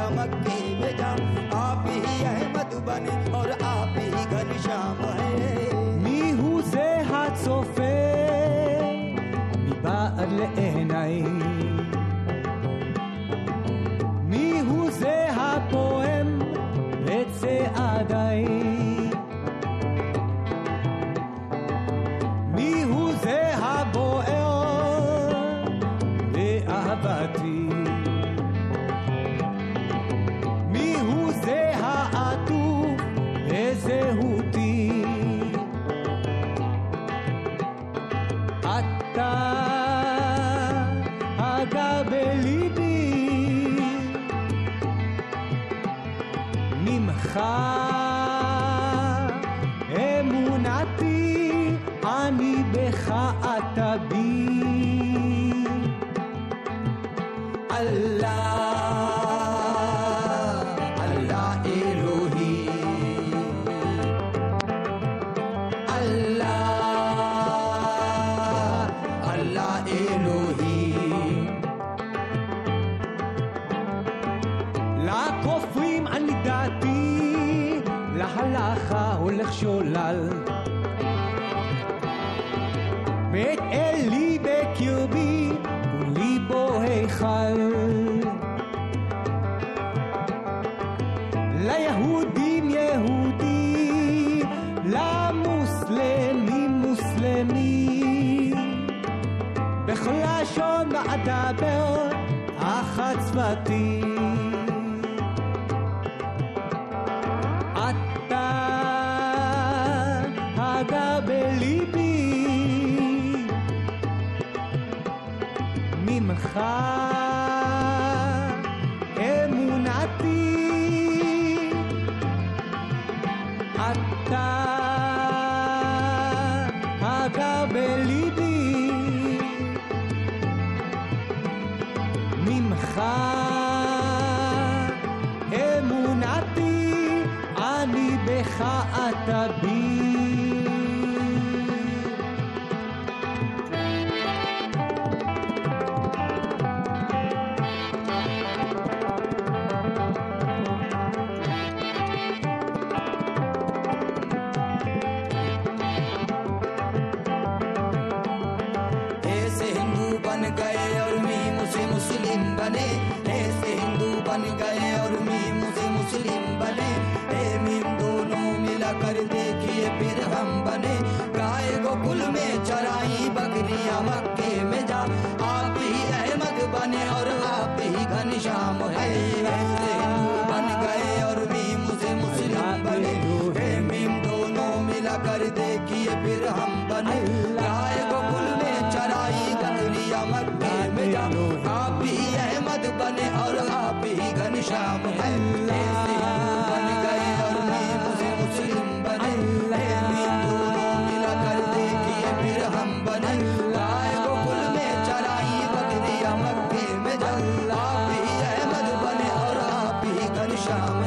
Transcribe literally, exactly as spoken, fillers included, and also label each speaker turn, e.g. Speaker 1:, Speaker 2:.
Speaker 1: या मक्के में जा, आप ही अहमद बने और आप ही घनश्याम है।
Speaker 2: מי הוא זה הצופה מבעד לעיניי? מי הוא זה הפועם בצעדיי? מי הוא זה הבוער באהבתי? מי הוא זה העטוף בזהותי? אתה הגר בליבי, ממך אמונתי, אני בך אתה בי. אללה אללה אלוהי, אללה אללה אלוהי. לכופרים אני דעתי, להלכה הולך שולל. בית אלי בקרבי וליבו היכל. ליהודים יהודי, למוסלמים מוסלמי. בכל לשון ואדבר אחת שפתי. אתה הגר בליבי, ממך אמונתי. אתה הגר בליבי, ממך אמונתי, אני בך אתה בי.
Speaker 1: ऐसे हिंदू बन गए और मैं मुझे मुस्लिम बने, ऐसे हिंदू बन गए और मैं मुझे मुस्लिम बने। ए मीम दोनों मिला कर देखिए फिर हम बने। गाय गोकुल में चराई बकरियां मक्के में जा, आप ही अहमद बने और आप ही घनश्याम है। ऐसे हिंदू बन गए और मैं मुझे मुस्लिम बने। ए मीम दोनों मिला कर देखिए फिर हम बने। गाय गोकुल में चराई बकरियां मक्के में जा, आप ही अहमद बने और आप ही घनश्याम है। ऐसे हिंदू बन गए और मैं मुझे मुस्लिम बने। ऐ मीम दोनों मिला कर देखिए फिर हम बने। गाय गोकुल में चराई बकरियां मक्के में जा, आप ही अहमद बने और आप ही घनश्याम